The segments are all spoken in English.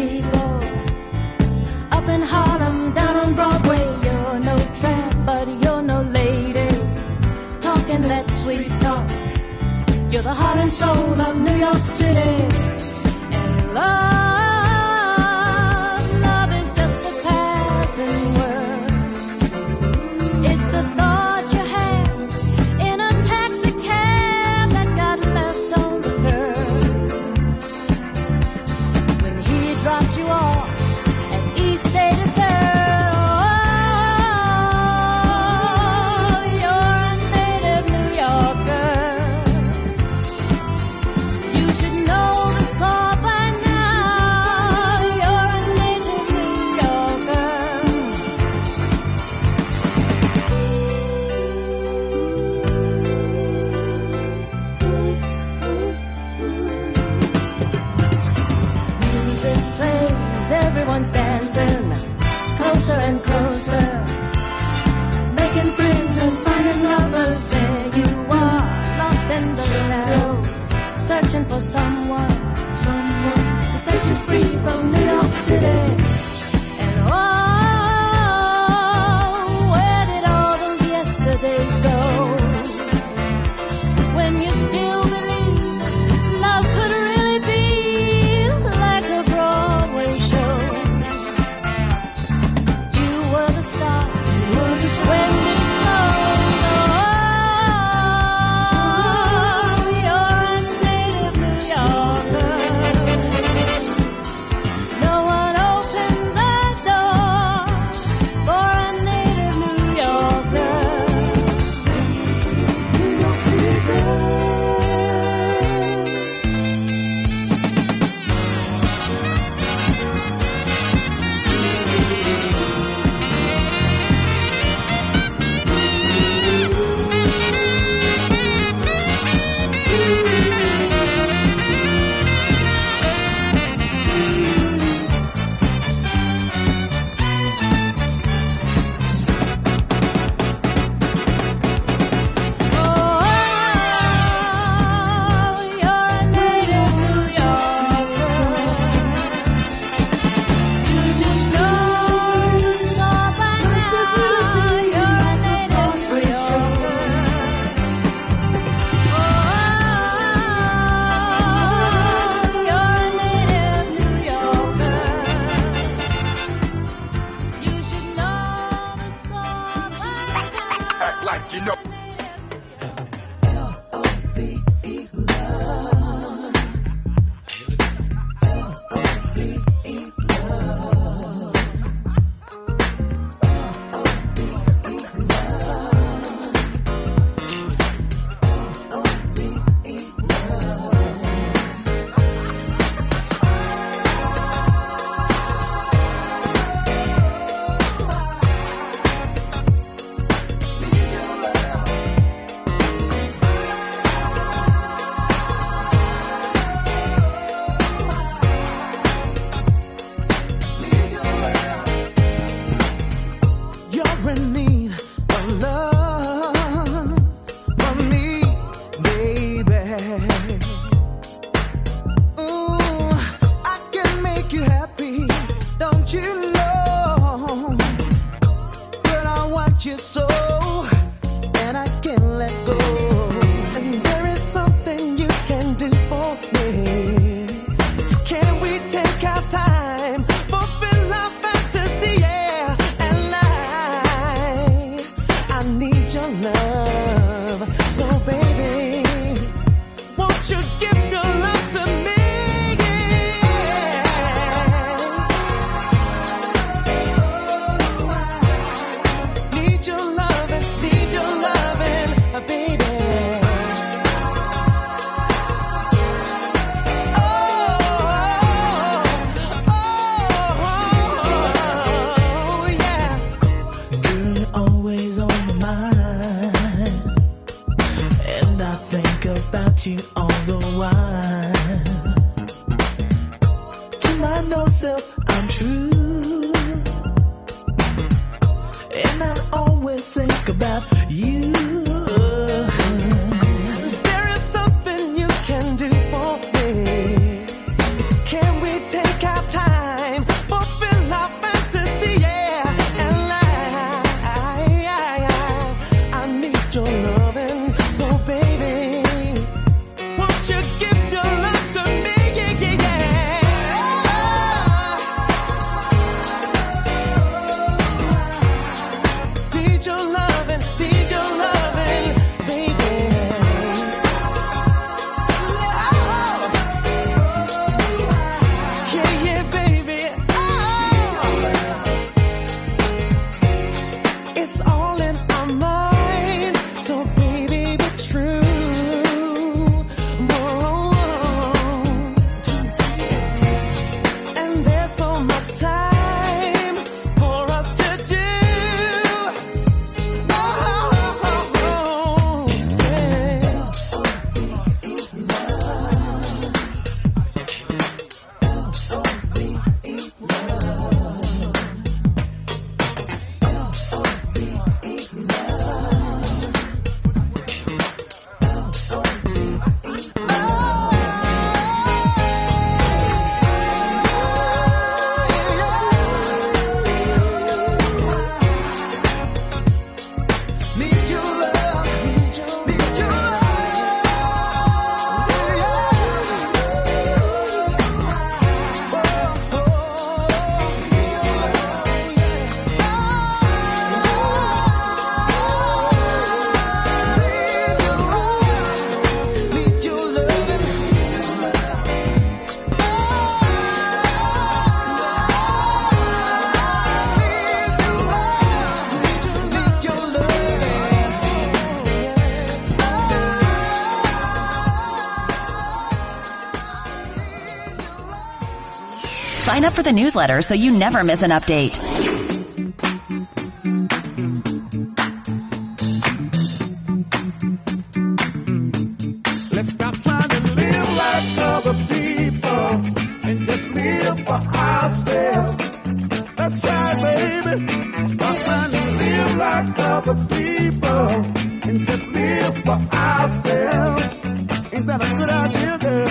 people. Up in Harlem, down on Broadway, you're no tramp, but you're no lady. Talking that sweet talk, you're the heart and soul of New York City. And love is just a passing word. It's the thought you had in a taxi cab that got left on the curb. When he dropped you off at East State of you're a native New Yorker. You should know the score by now. You're a native New Yorker. Music plays, everyone's dancing closer and closer, making friends and finding lovers. There you are, lost in the shadows, searching for someone to set you free from New York City. And oh, where did all those yesterdays go? When you still believe love could really be like a Broadway show. You were the star. When did it go? Oh, you're a native New Yorker. No one opens that door for a native New Yorker. New York City girl. Like you know. You're in need of love from me, baby. Ooh, I can make you happy, don't you know? But I want you so, and I can't let go. And there is something you can do for me. Can we take our time, fulfill our fantasy, yeah, and I need your love, so baby, won't you give your love to me? Need your loving, baby. Oh, yeah. Girl, you're always on my mind, and I think about you all the while. To my no self, I'm true, and I always think about you. There is something you can do for me. Can we take our time? Sign up for the newsletter so you never miss an update. Let's stop trying to live like other people and just live for ourselves. Let's try, baby. Stop trying to live like other people and just live for ourselves. Ain't that a good idea, girl?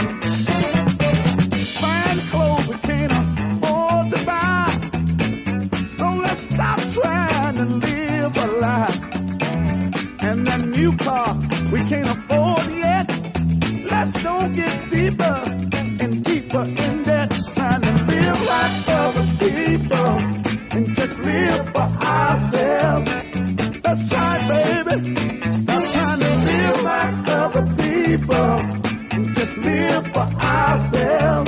Fine clothes we can't afford to buy. So let's stop trying to live a lie. And that new car we can't afford yet. Let's don't get deeper and deeper in debt. Trying to live like other people and just live for ourselves. Let's try, baby. Stop trying to live like other people and just live for ourselves.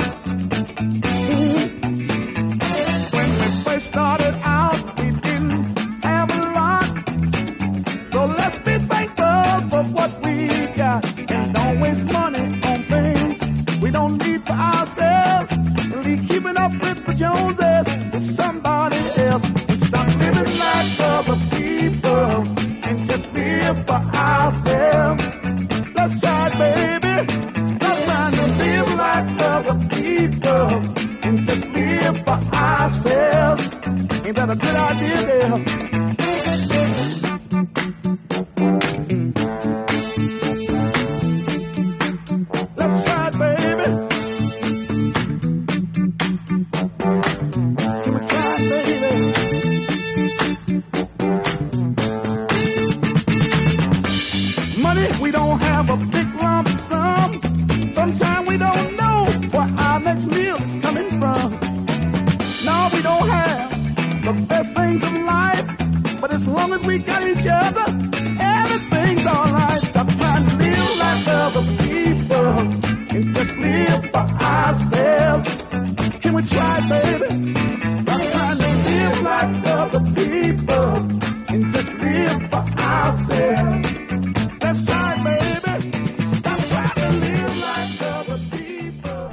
When we first started out, we didn't have a lot. So let's be thankful for what we got and don't waste money on things we don't need for ourselves. And leave keeping up with the Joneses with somebody else. And stop living like other people and just live for ourselves. Let's try, baby. Stop trying to live like other people and just live for ourselves. Ain't that a good idea, girl? Let's try it, baby. Can we try it, baby? Money, we don't have a big lump sum. Sometimes we don't know where our next meal is coming from. No, we don't have the best things in life, but as long as we got each other, everything's alright. Stop trying to live like other people and just live for ourselves. Can we try, baby? Stop trying to live like other people and just live for ourselves. Let's try, baby. Stop trying to live like other people.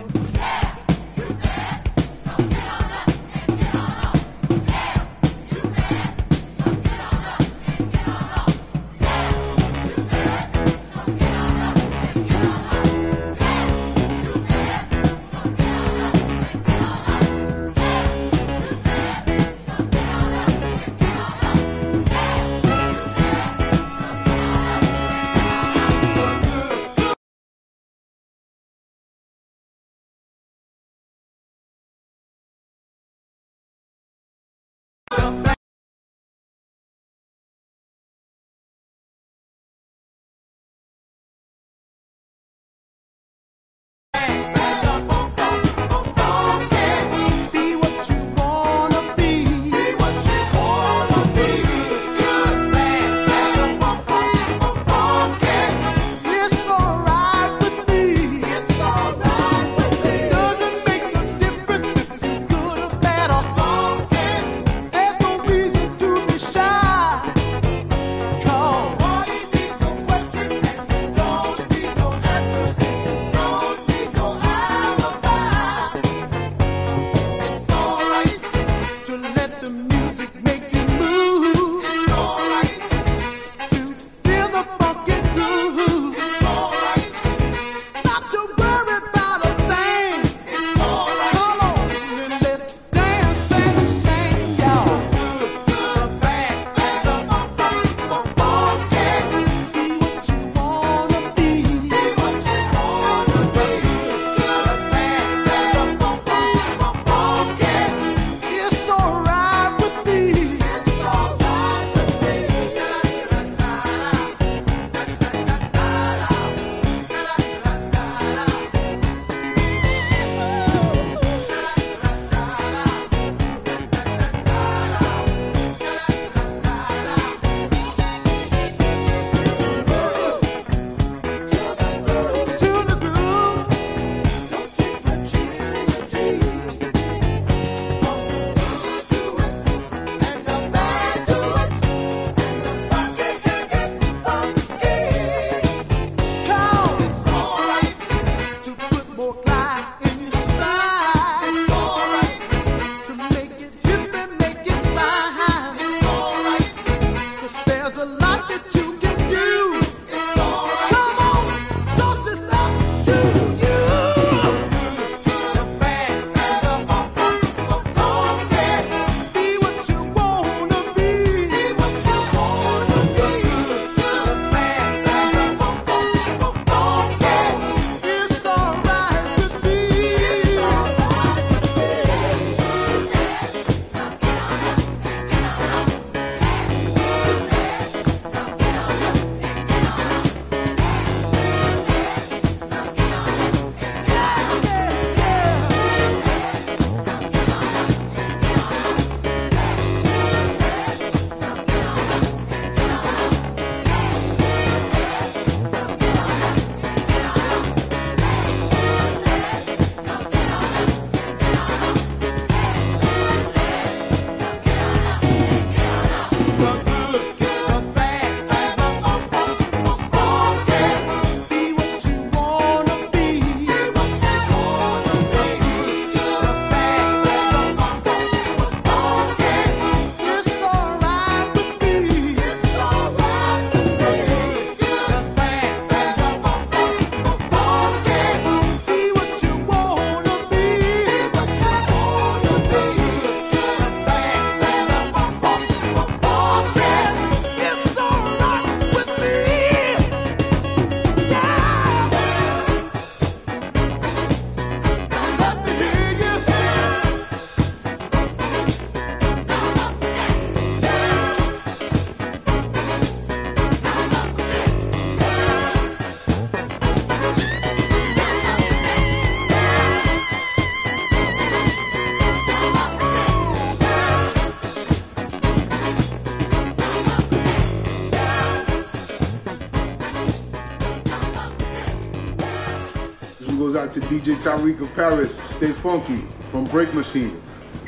out to DJ Tariq of Paris. Stay funky from Break Machine.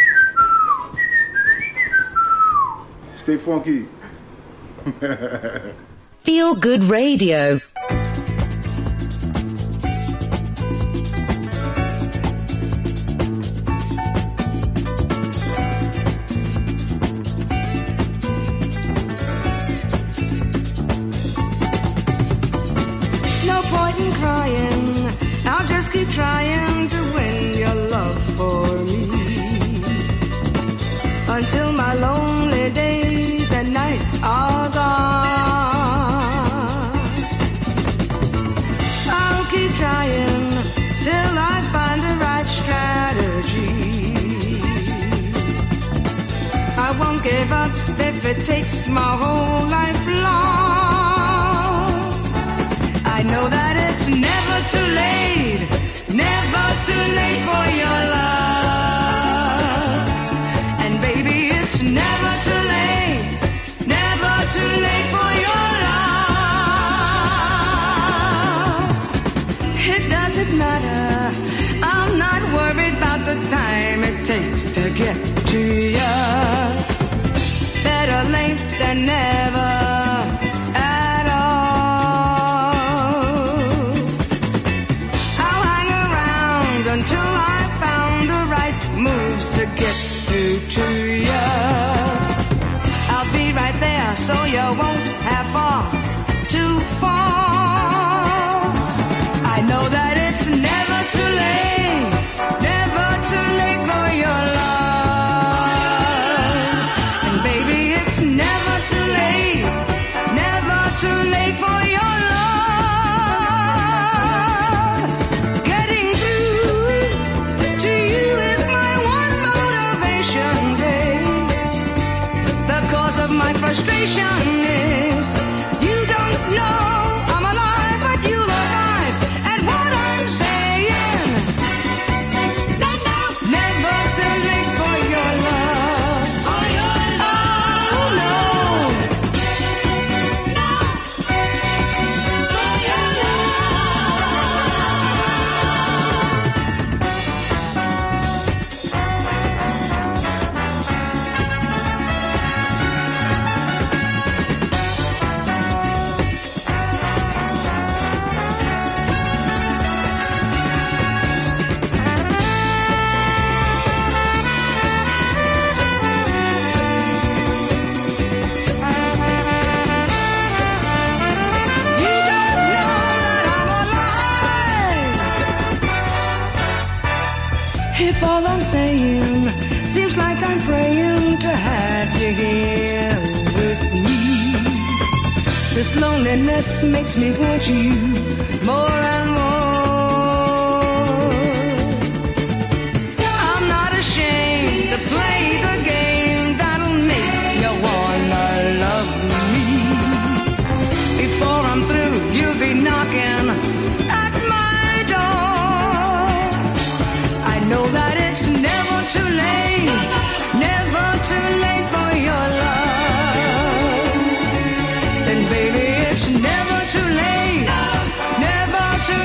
Stay funky. Feel Good Radio. No point in crying, I'll just keep trying to win your love for me. Until my lonely days and nights are gone, I'll keep trying till I find the right strategy. I won't give up if it takes my whole life long. I know that it's never too late, never too late for your love. And baby, it's never too late, never too late for your love. It doesn't matter, I'm not worried about the time it takes to get to you. Better late than never. So you won't have far to fall. I know that it's never too late, never too late for your love. And baby, it's never too late, never too late for your love. Getting through to you is my one motivation, babe. The cause of my frustration is you don't know I'm alive, but you'll arrive at what I'm saying. Never too late for your love. Oh no. If all I'm saying seems like I'm praying to have you here with me, this loneliness makes me want you more and more. I'm not ashamed to play the game that'll make you wanna love me. Before I'm through, you'll be knocking at my door. I know that it's never too late, never too late for your love. And baby, it's never too late, never too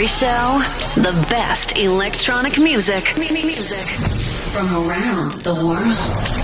every show, the best electronic music from around the world.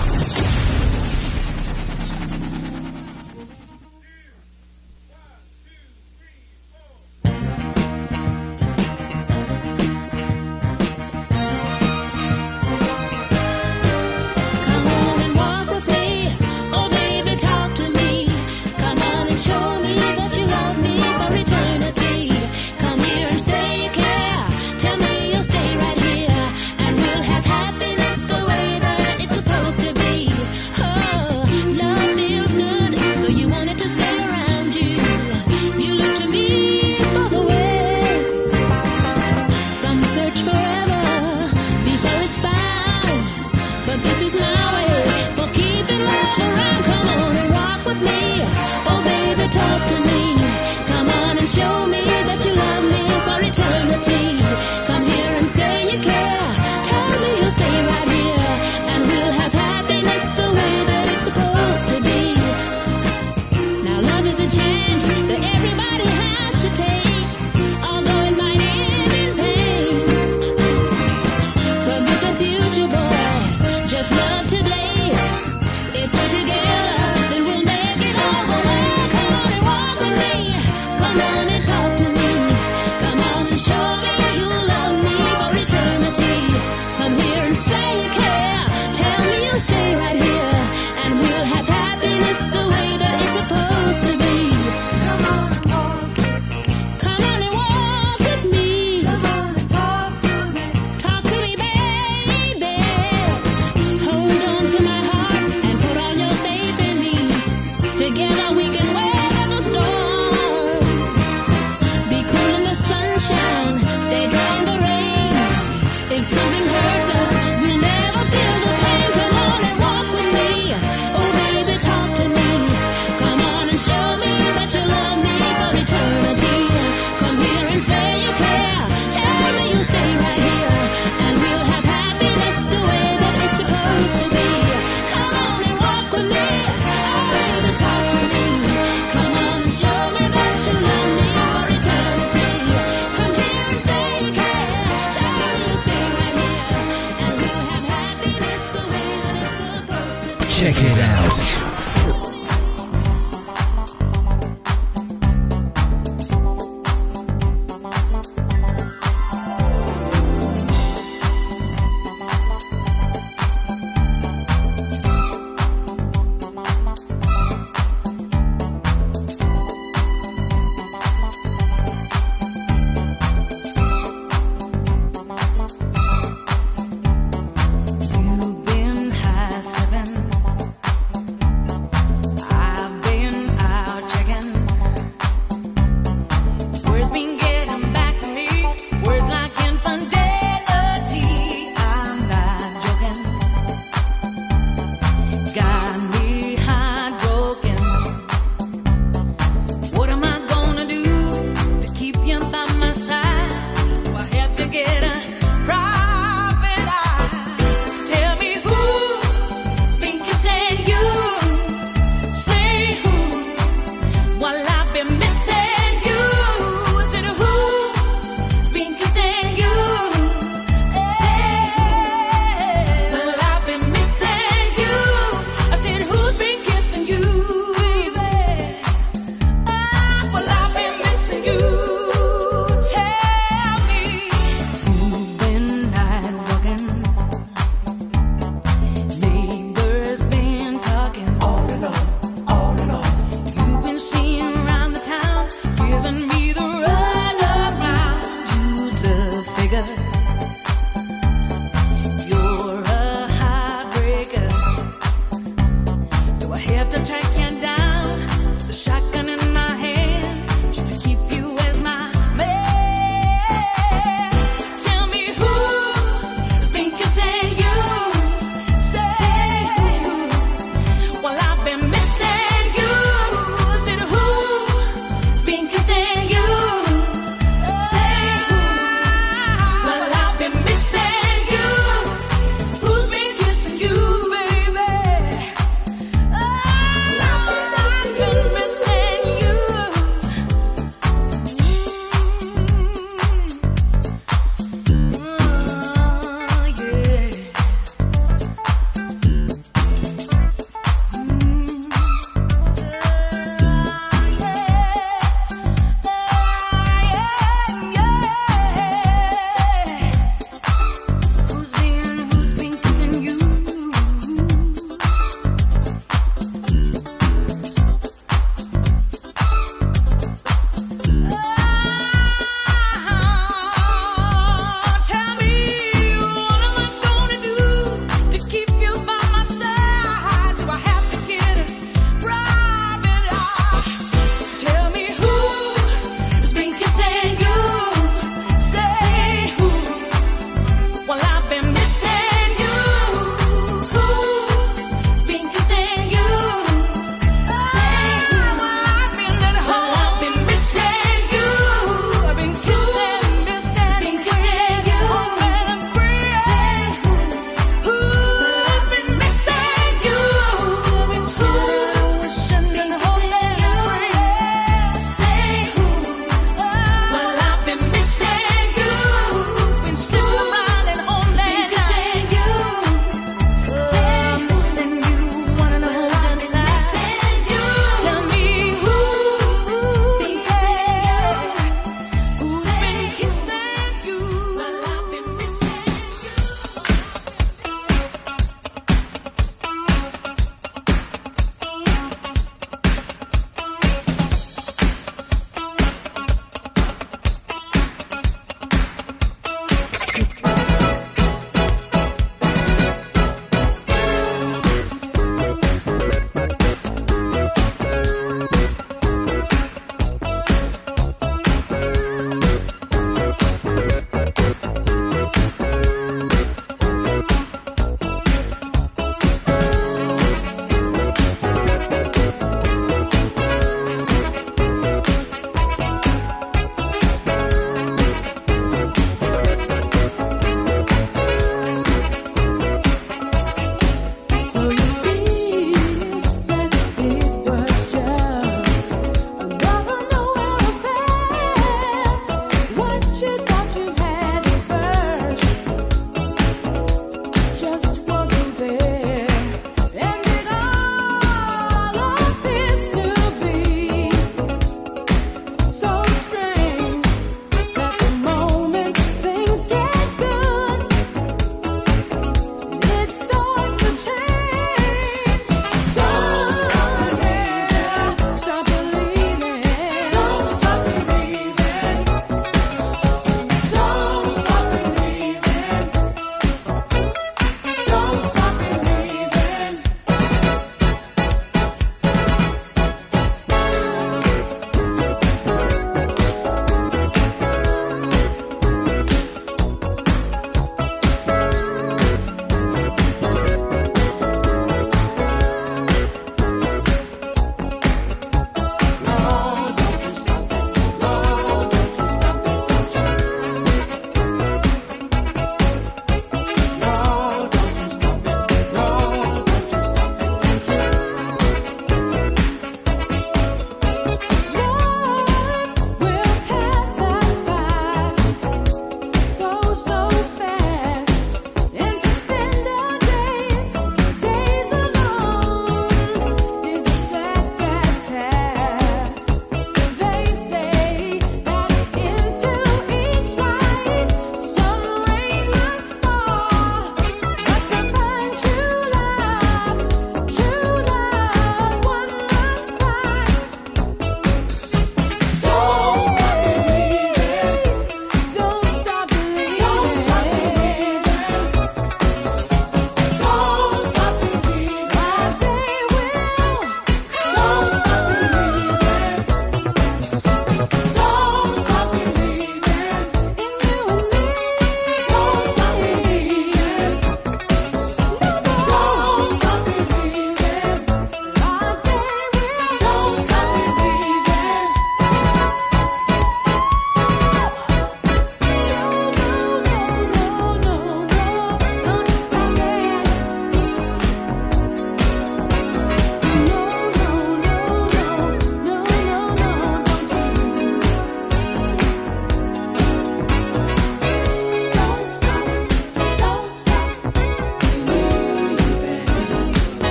Check it out.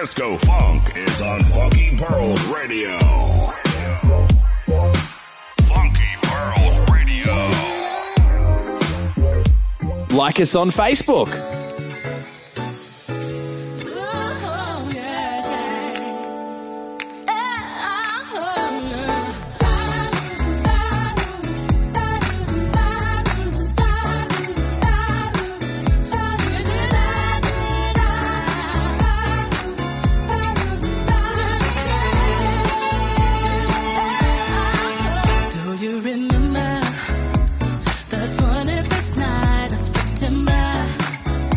Disco Funk is on Funky Pearls Radio. Funky Pearls Radio. Like us on Facebook. Night of September,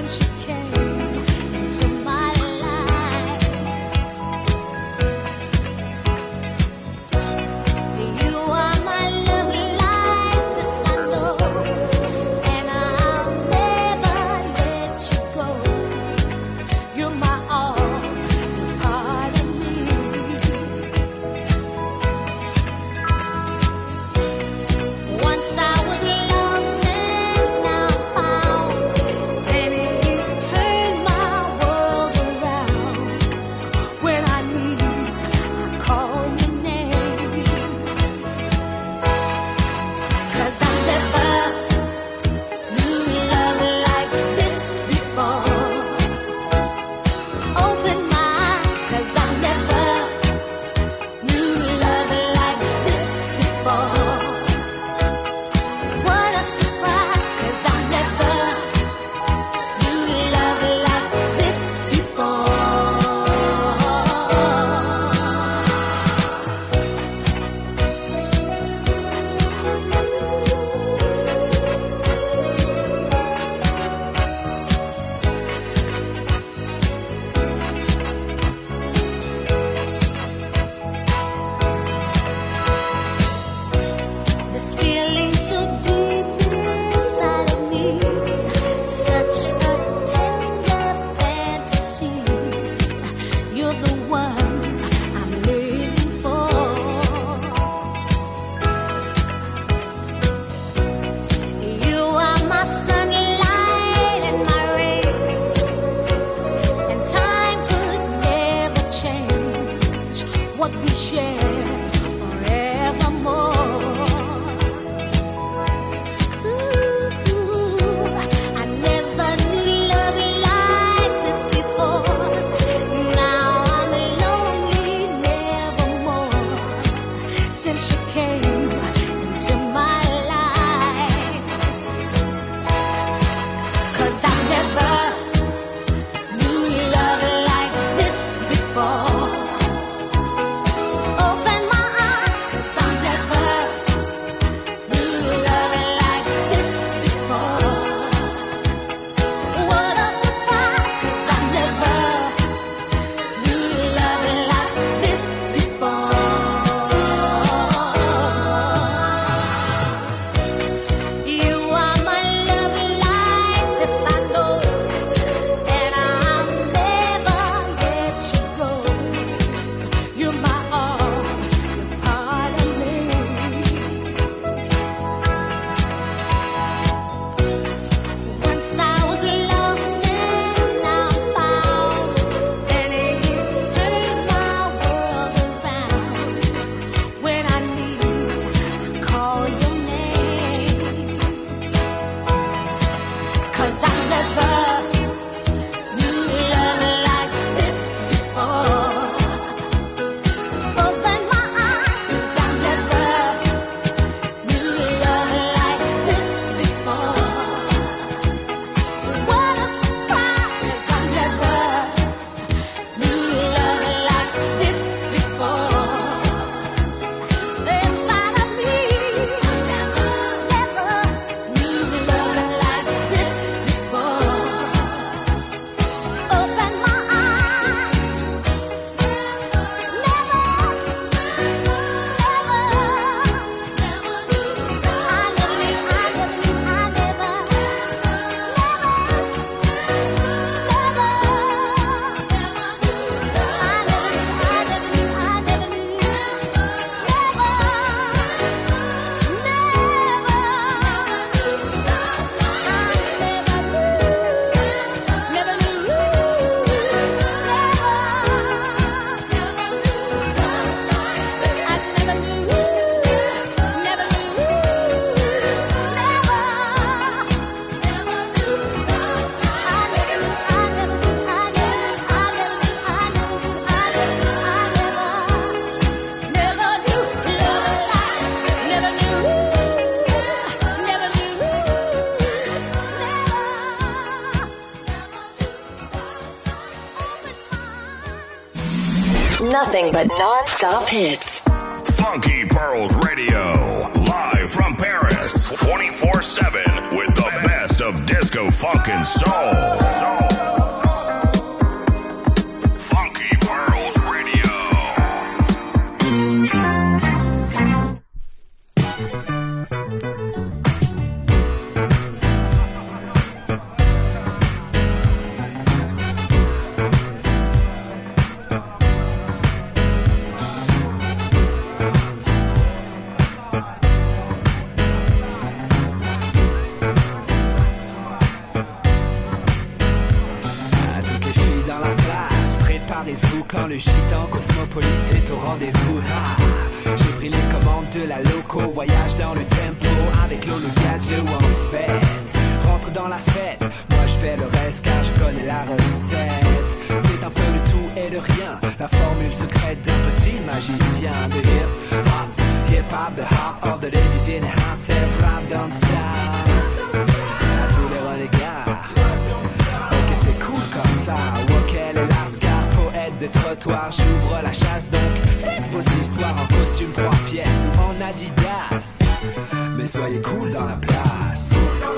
Nothing but non-stop hits. Funky Pearls Radio, live from Paris, 24/7 with the best of of disco, funk, and soul. Funky Pearls Radio. Quand le gitan cosmopolite est au rendez-vous, j'ai pris les commandes de la loco, voyage dans le tempo avec Lolo Gadget ou en fait rentre dans la fête, moi je fais le reste car je connais la recette. C'est un peu de tout et de rien, la formule secrète d'un petit magicien de hip-hop, the hop of the ladies in the house, self-rap don't stop. À tous les renégats, ok c'est cool comme ça, ok les lascars, poète de trottoir, j'ouvre la chasse donc faites vos histoires en costume 3 pièces ou en Adidas, mais soyez cool dans la place.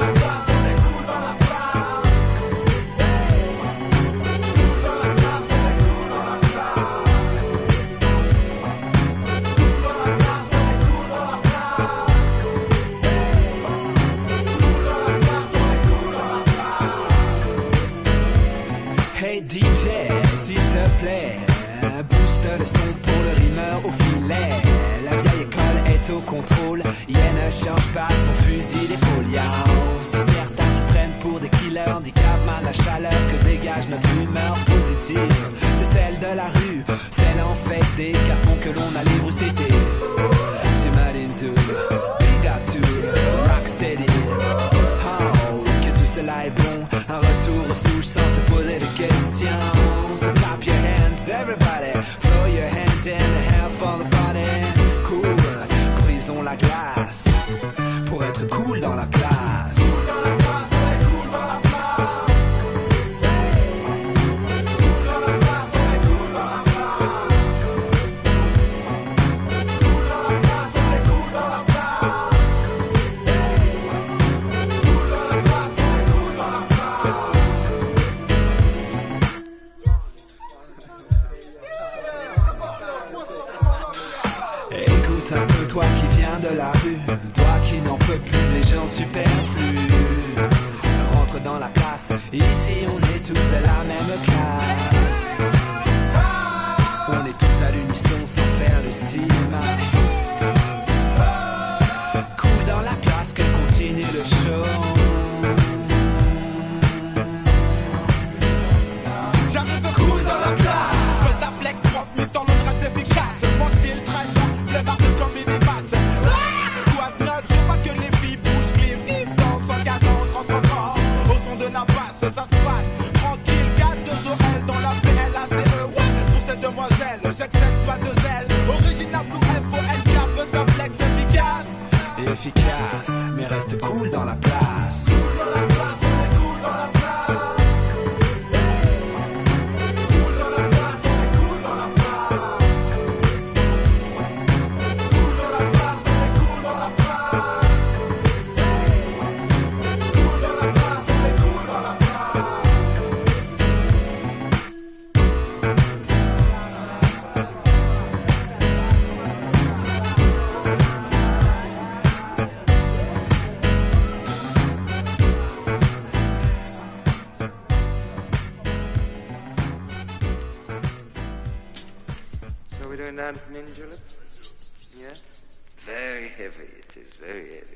Hey DJ, s'il te plaît, booste le son pour le rimeur au filet. La vieille école est au contrôle, yeah, ne change pas son fusil d'épaule. Si certains se prennent pour des killers, handicapent mal la chaleur que dégage notre humeur positive. C'est celle de la rue, celle en fait des cartons que l'on a libre c'était. Tim Adinzou, big up to Rocksteady. Oh, que tout cela est bon, un retour sous le sang, se poser des questions. So clap your hands, everybody, throw your hands in the air for the body. Cool, brisons la glace, pour être cool dans la place. Toi qui viens de la rue, toi qui n'en peux plus des gens superflus, rentre dans la place, ici on est tous de la même classe. On est tous à l'unisson sans faire de cinéma. Cool dans la place, que continue le show. J'arrive cool dans la place, fais ta flex, prof, mise dans le reste efficace. Mon style traîne, le bar de comme il dépasse. Quoi de neuf, je vois que les filles bougent, glissent, sniff, dansent en cadence, rentre encore. Au son de la basse, ça se passe tranquille, 4-2-OL dans la PLACE. Ouais, pour ces demoiselles, j'accepte pas de zèle. Original pour FOLK, buzz la flex efficace. Efficace, mais reste cool dans la place. Down from in, Julep? Yeah? Very heavy, it is, very heavy.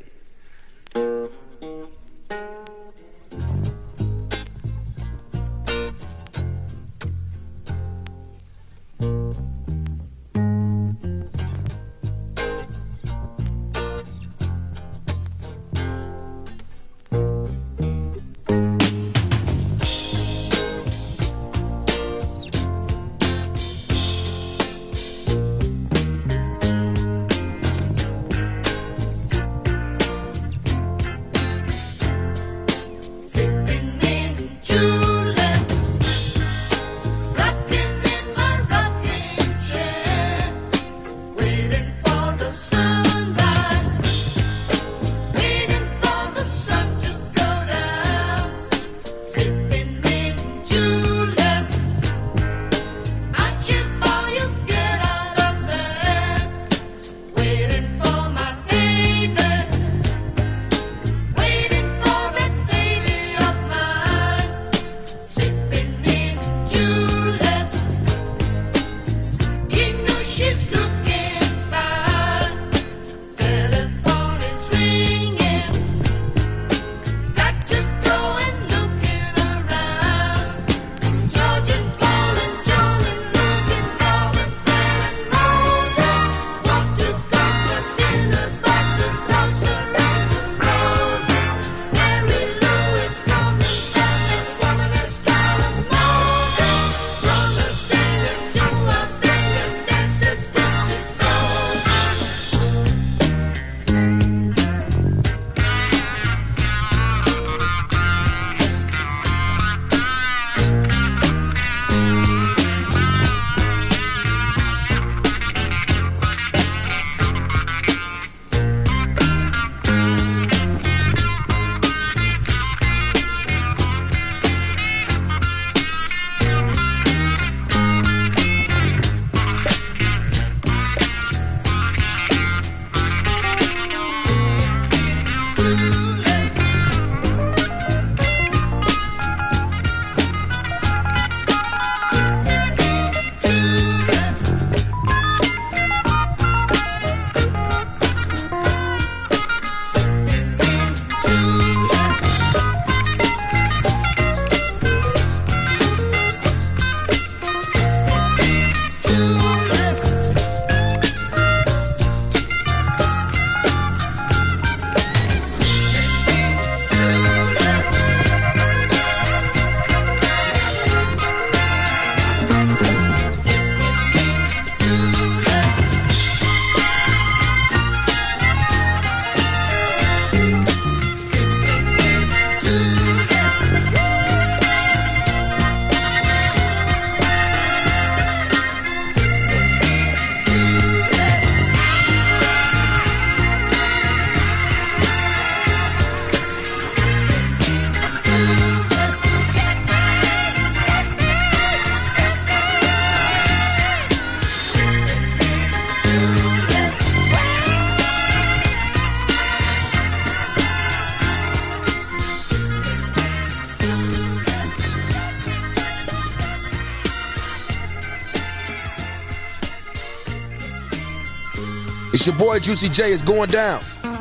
It's your boy Juicy J. It's going down.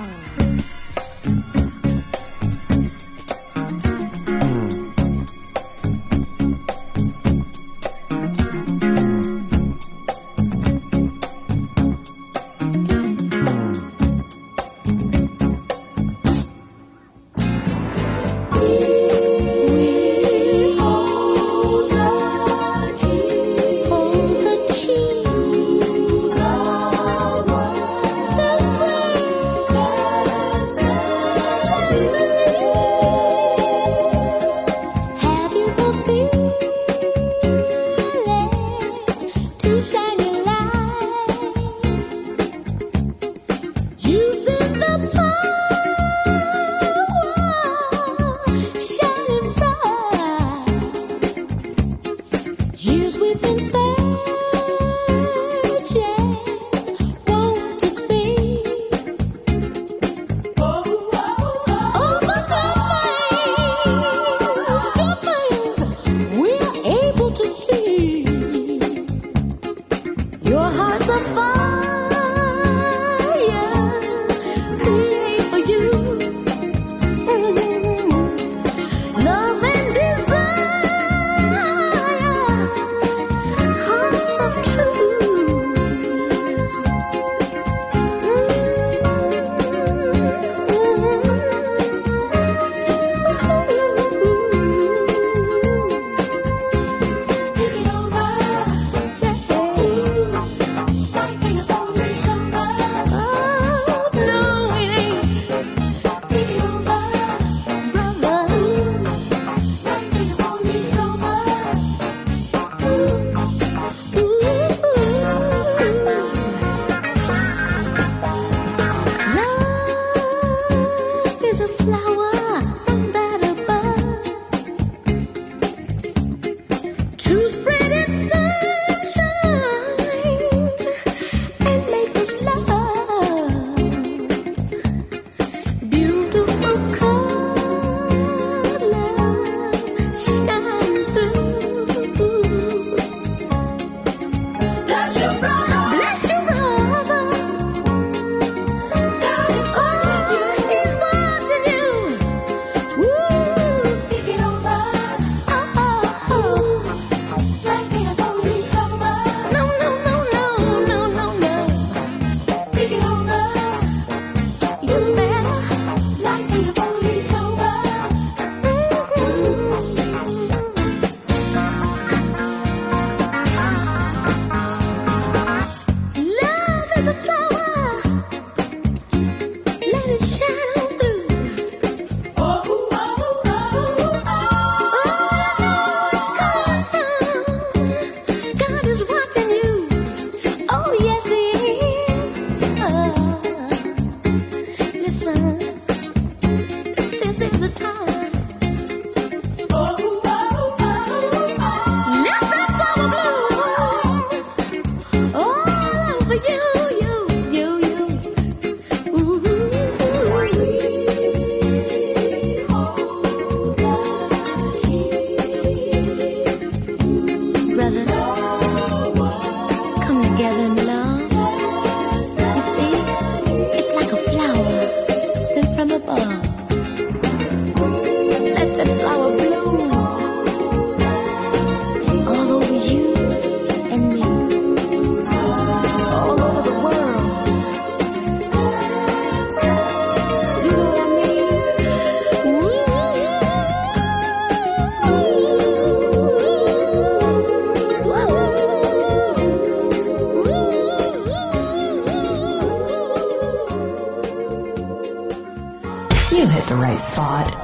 You hit the right spot.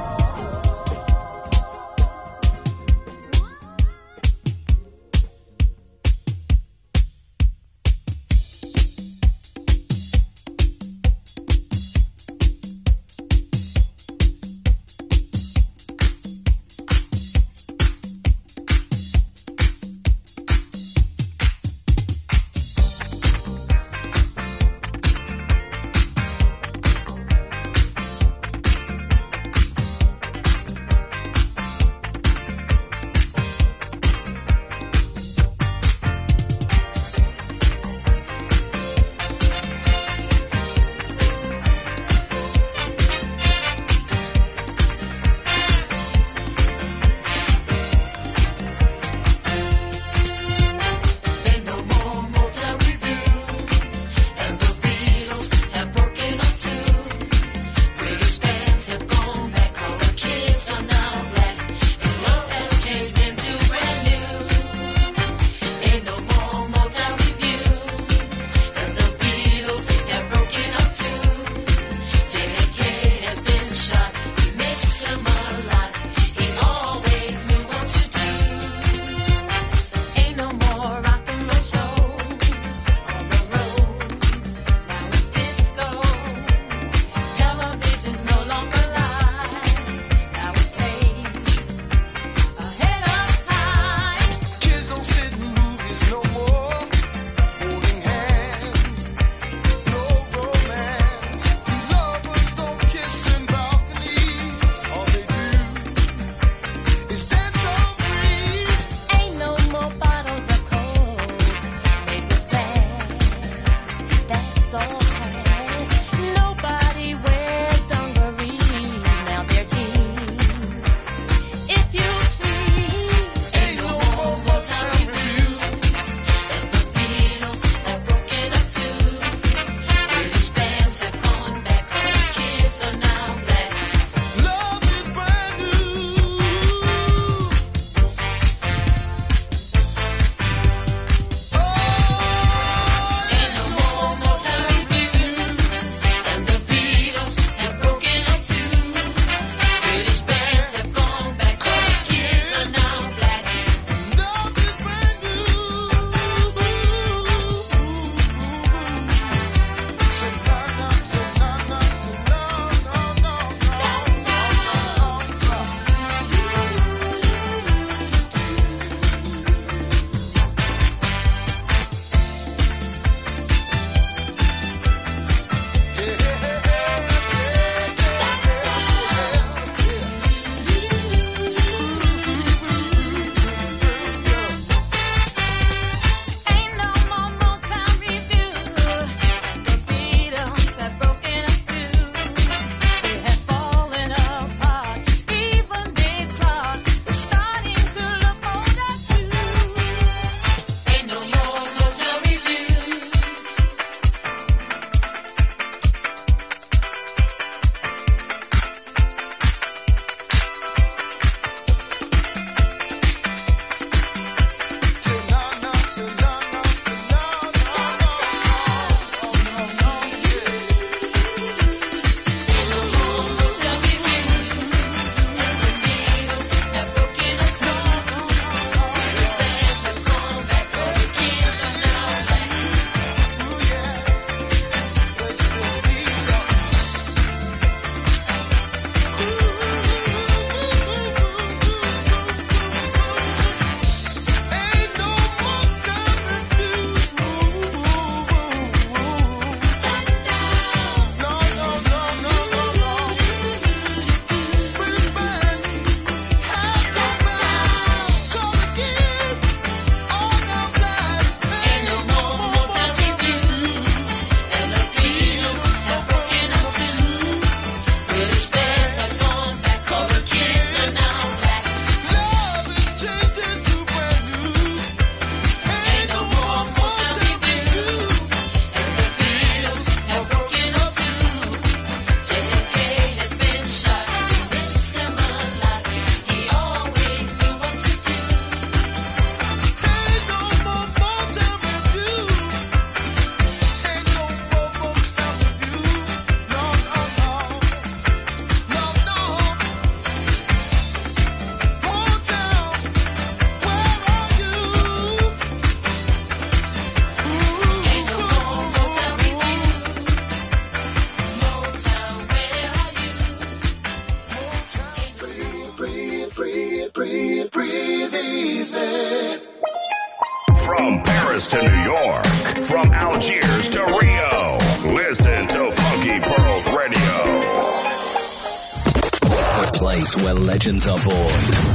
From Paris to New York, from Algiers to Rio, listen to Funky Pearls Radio. The place where legends are born